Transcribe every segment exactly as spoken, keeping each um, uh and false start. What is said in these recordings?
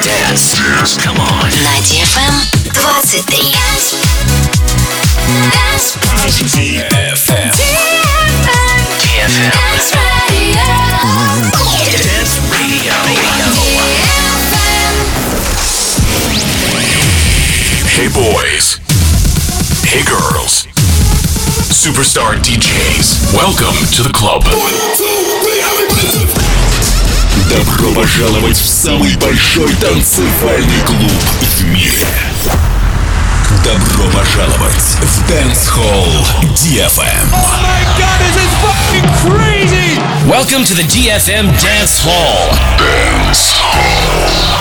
Dance. Dance. Come on. На ди эф эм двадцать три. ди эф эм. ди эф эм. Dance Radio. Dance Radio. Hey boys. Hey girls. Superstar ди джейс. Welcome to the club. Добро пожаловать в самый большой танцевальный клуб в мире. Добро пожаловать в Dance Hall ди эф эм. Oh my god, this is fucking crazy! Welcome to the ди эф эм Dance Hall. Dance Hall.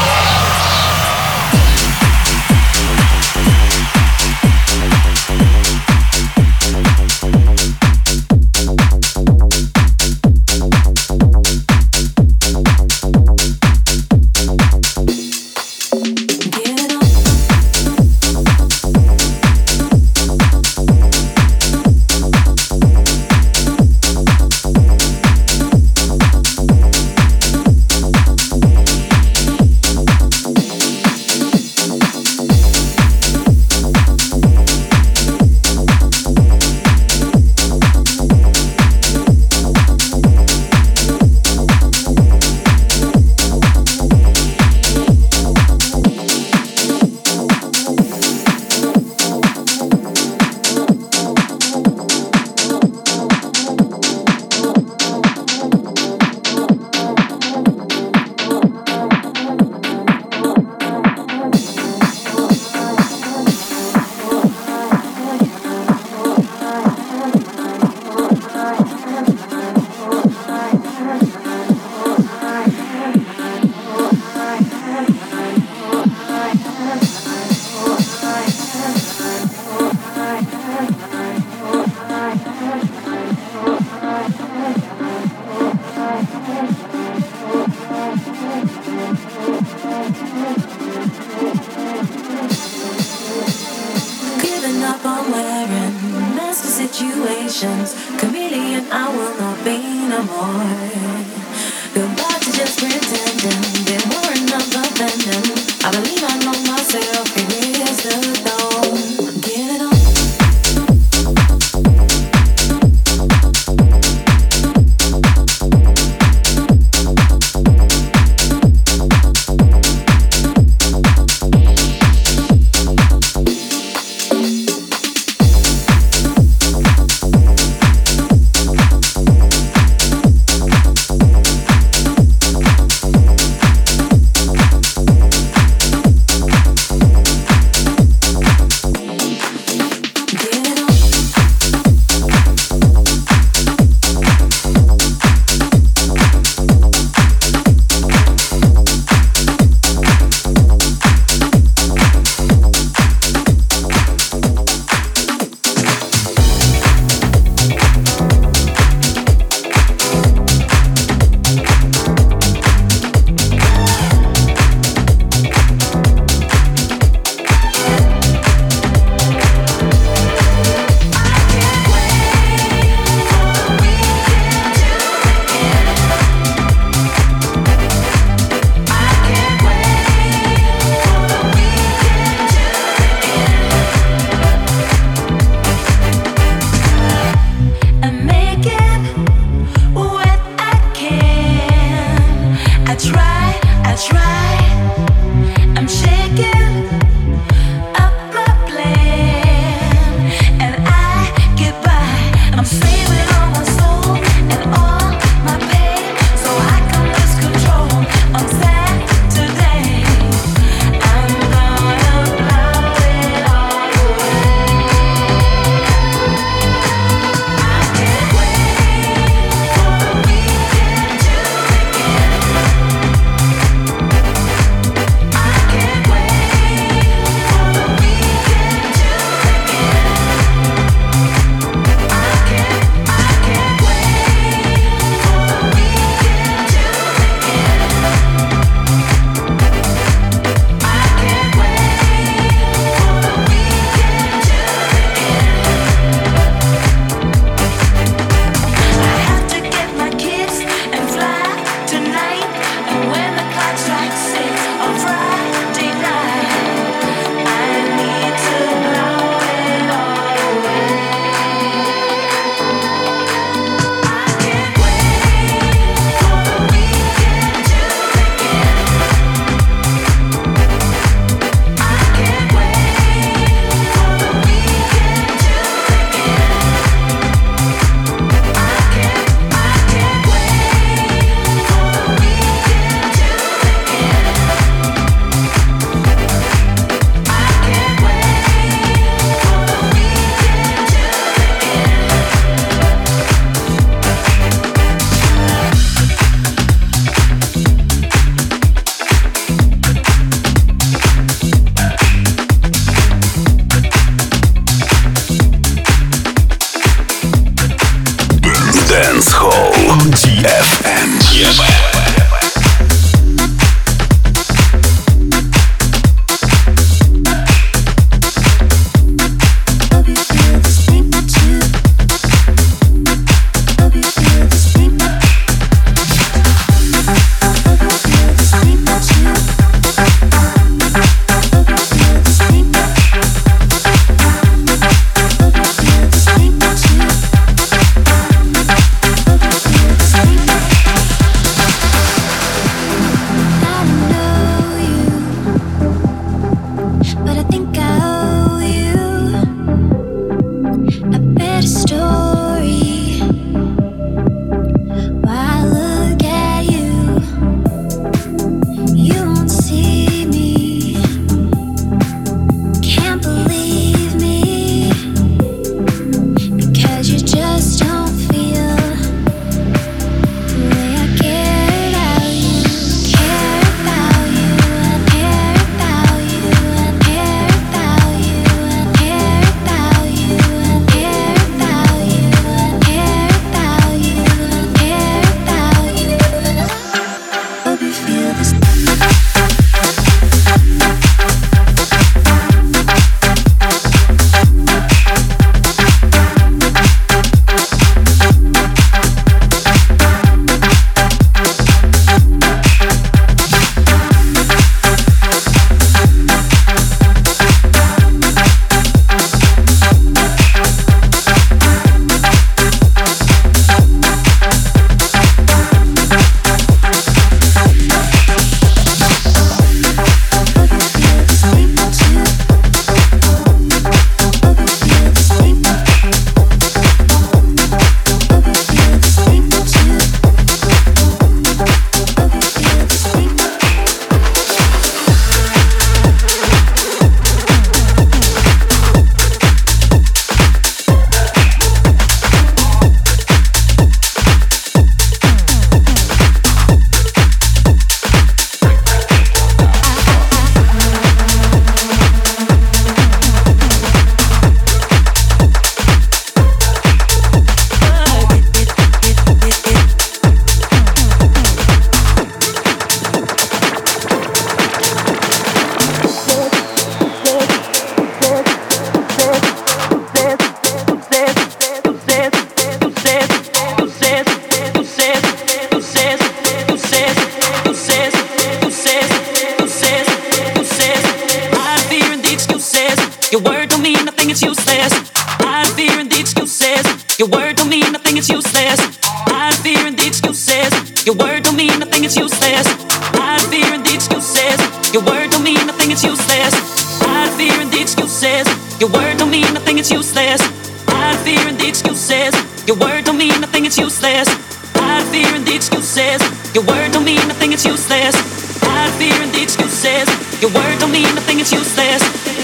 useless. Tired of fearing the excuses. Your word don't mean nothing, it's useless. Tired of fearing the excuses. Your word don't mean nothing, it's useless. Tired of fearing the excuses. Your word don't mean nothing, it's useless. Tired of fearing the excuses. Your word don't mean nothing, it's useless. Tired of fearing the excuses. Your word don't mean nothing, it's useless.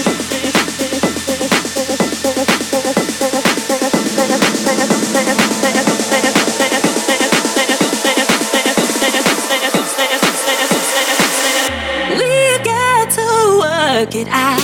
We've got to work it out.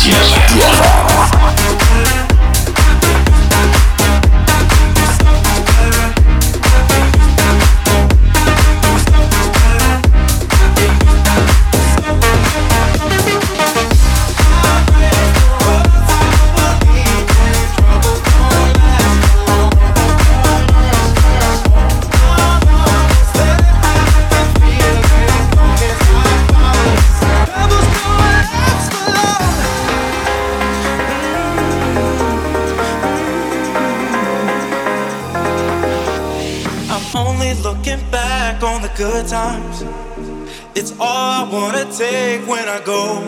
Good times, it's all I wanna take when I go.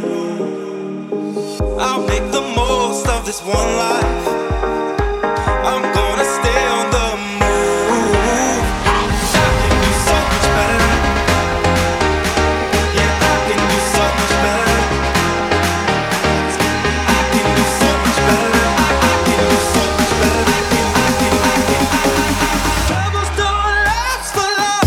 I'll make the most of this one life. I'm gonna stay on the move. I can do so much better. Yeah, I can do so much better. I can do so much better. I can do so much better. I can, I can, I can. Troubles don't last for long.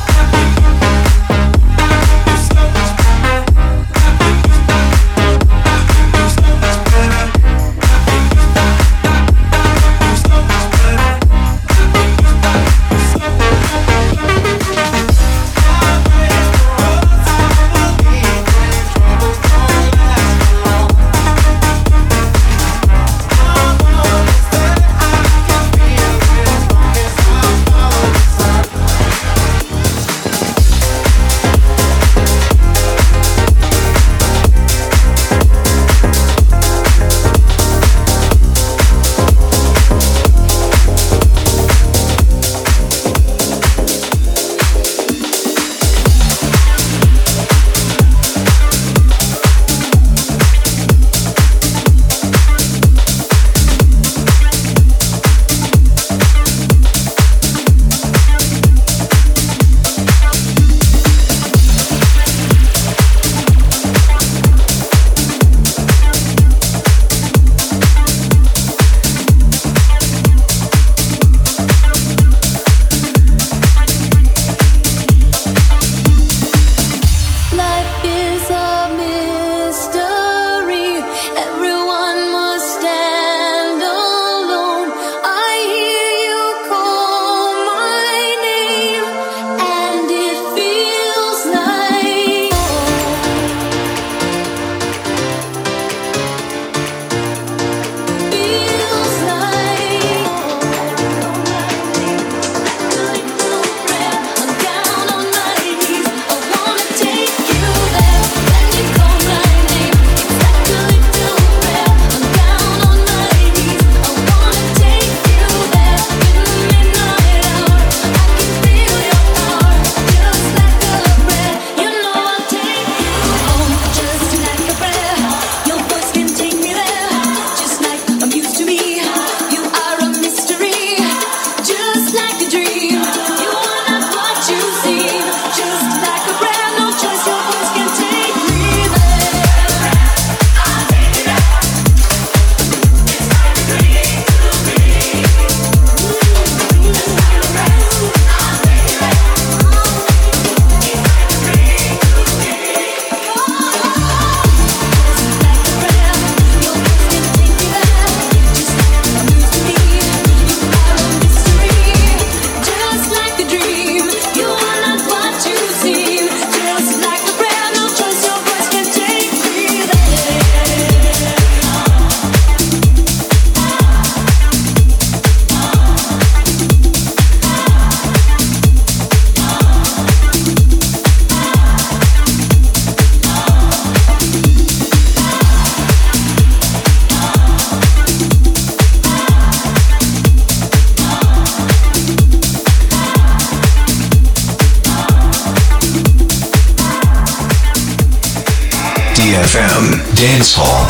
D F M Dance Hall.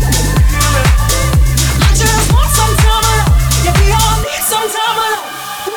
Some time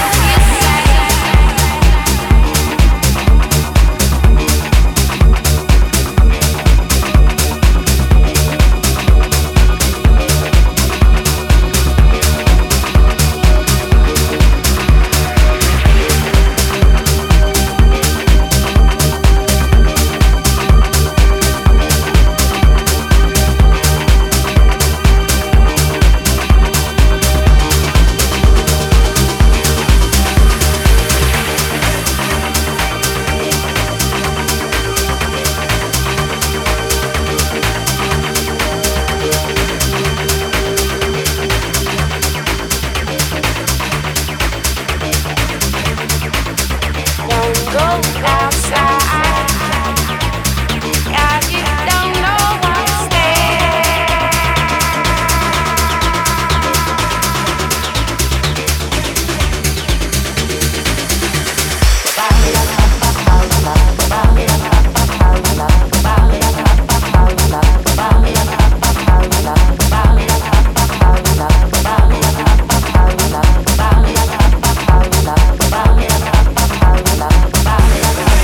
Bye.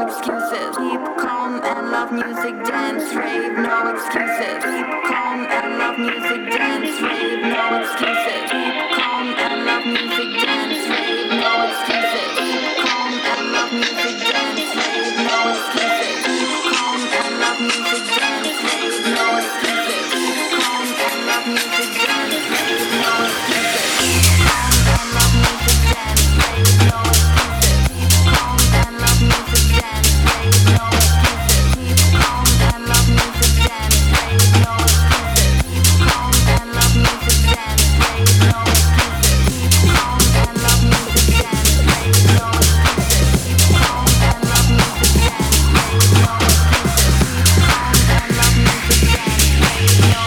excuses. Keep calm and love music, dance, rave, no excuses. Keep calm and love music, dance, rave, no excuses. Keep calm and love music, dance, rave, no excuses. Keep calm and love music, dance, rave, no excuses. Keep calm and love music, dance, rave, no excuses. Keep calm and love music, dance, rave, no excuses. Keep calm and love music, dance, rave, no excuses. Keep calm and love music, dance, rave, no excuses. Keep calm and love music, dance, rave, no excuses. Keep calm and love music, dance, rave, no excuses. Keep calm and love music, dance, rave, no excuses. Keep calm and love music, dance, rave, no excuses. Keep calm and love music, dance, rave, no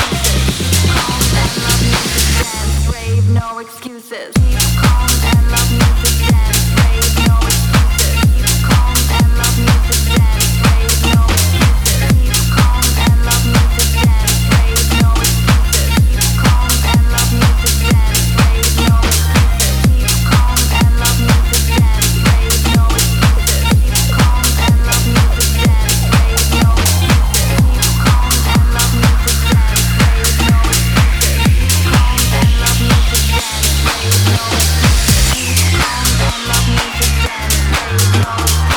excuses. Keep calm and love music, dance, rave, no excuses. Keep calm and love music, dance, rave, no excuses. Keep calm and love music, dance, rave, no excuses. Keep calm and love music, dance, rave, no excuses. Keep calm and love music, dance, rave, no excuses. Keep calm and love music, dance, rave, no excuses. Keep calm and love music, dance, rave, no excuses. Keep calm and love music, dance, rave, no excuses. Keep calm and love music, dance, rave, no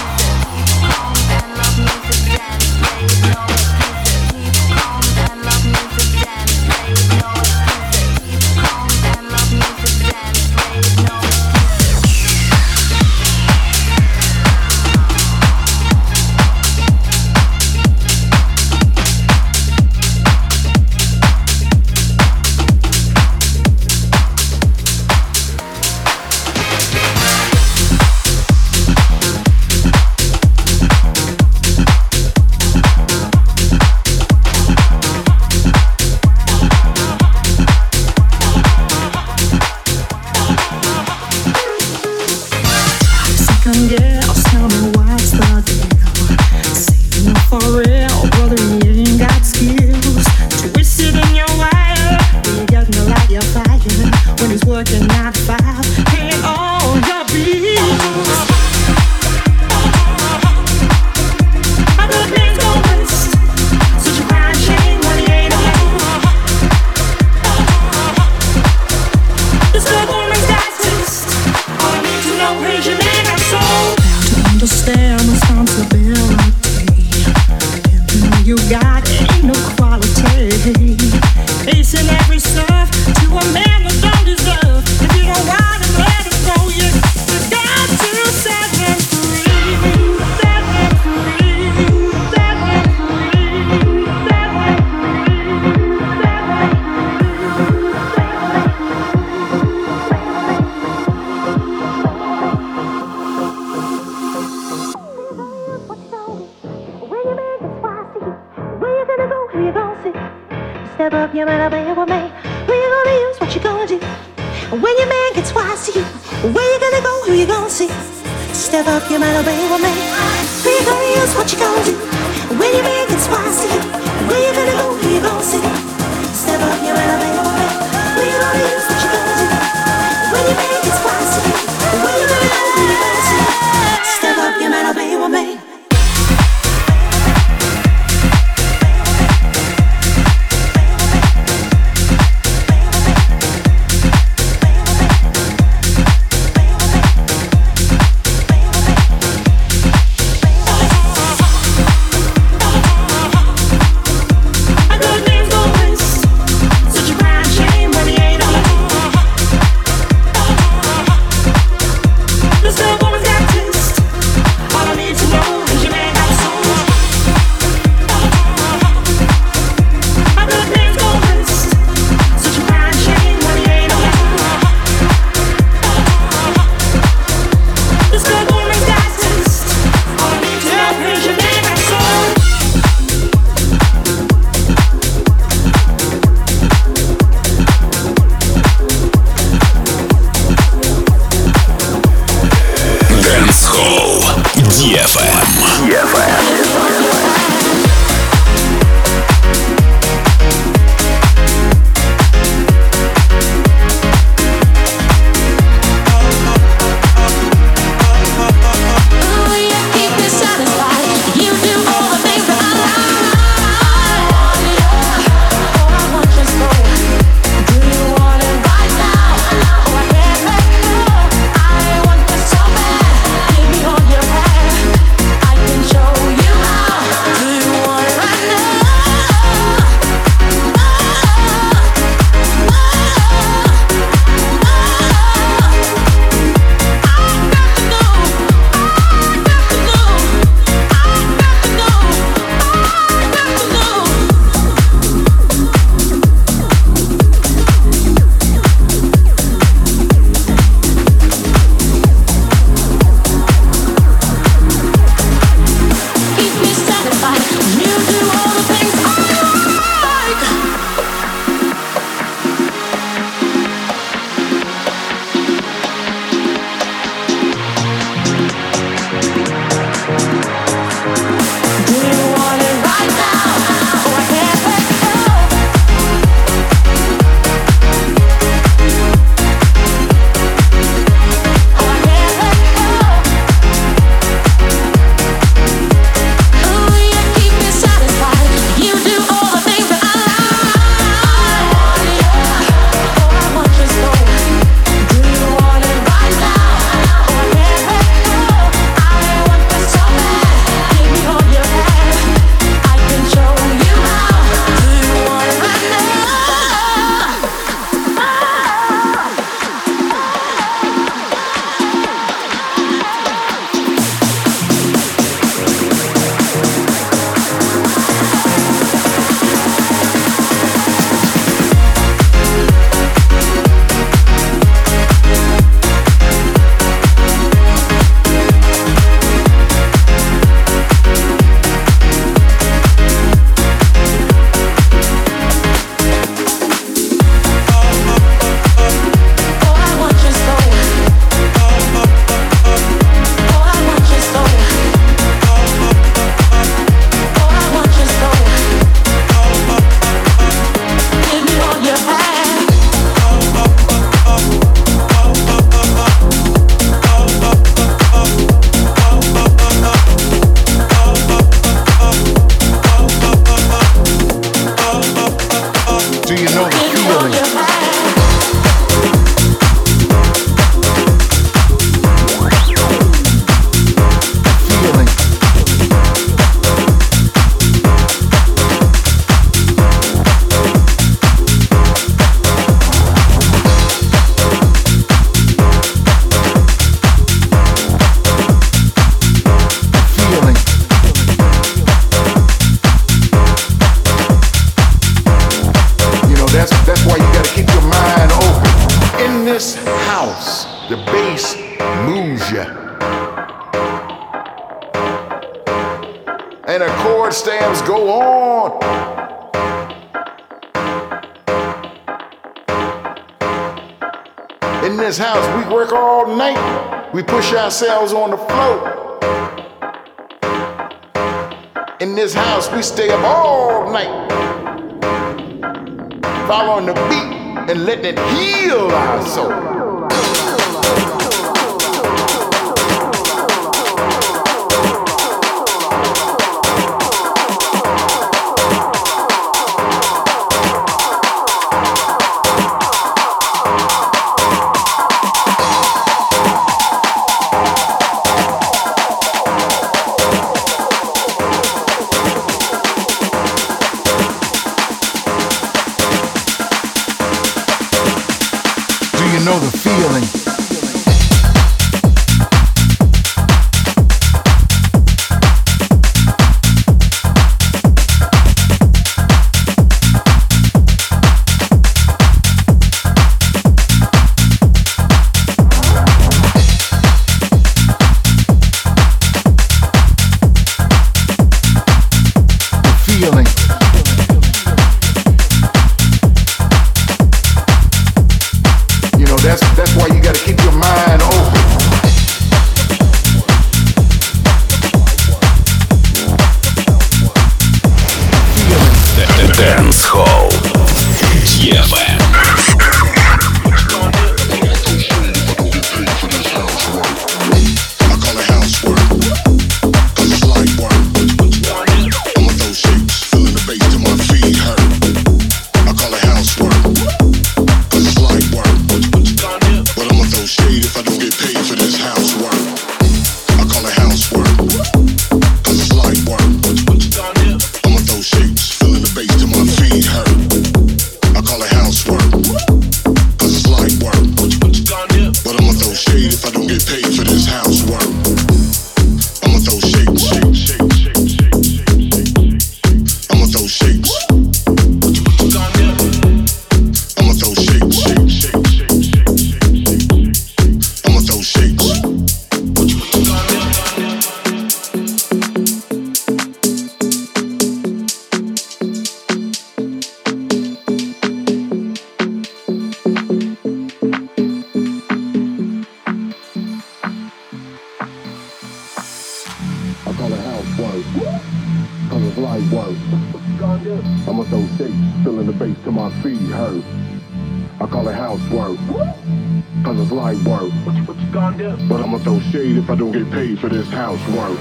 ди эф эм. ди эф эм. Deep inside this house, the bass moves ya. And the chord stamps go on. In this house, we work all night. We push ourselves on the floor. In this house, we stay up all night, following the beat and letting it heal our soul. Know the feeling. That's, that's why you gotta keep your mind open. Dance Hall ди эф эм. I'ma throw shapes, feeling the bass till my feet hurt. I call it housework, cause it's light work. What you, what you gonna do? But I'ma throw shade if I don't get paid for this housework.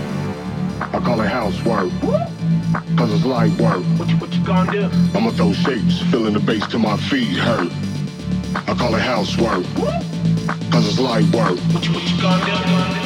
I call it housework, cause it's light work. What you, what you gonna do? I'ma throw shapes, feeling the bass till my feet hurt. I call it housework, cause it's light work. What you, what you gonna do?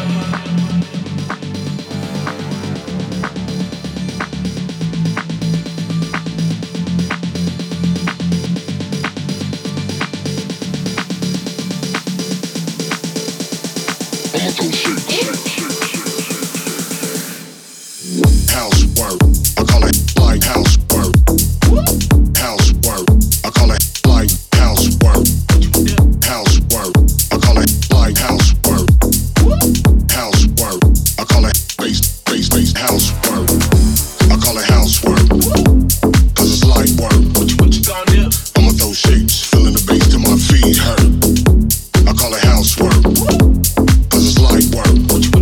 Housework, cause it's light work.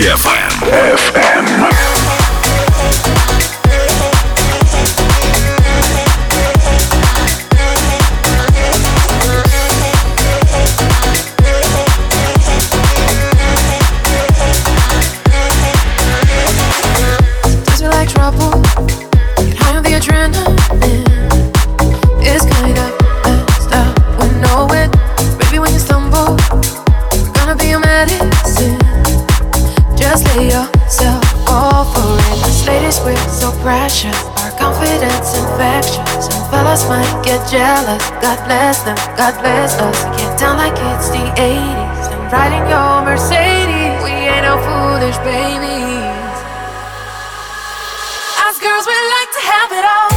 эф эм. эф эм. Trouble, high on the adrenaline. It's kind of messed up, we know it. Baby, when you stumble, we're gonna be your medicine. Just lay yourself all for it. Us ladies, we're so precious. Our confidence infectious. Some fellas might get jealous. God bless them, God bless us. Get down like it's the eighties. I'm riding your Mercedes. We ain't no foolish babies. Girls, we like to have it all.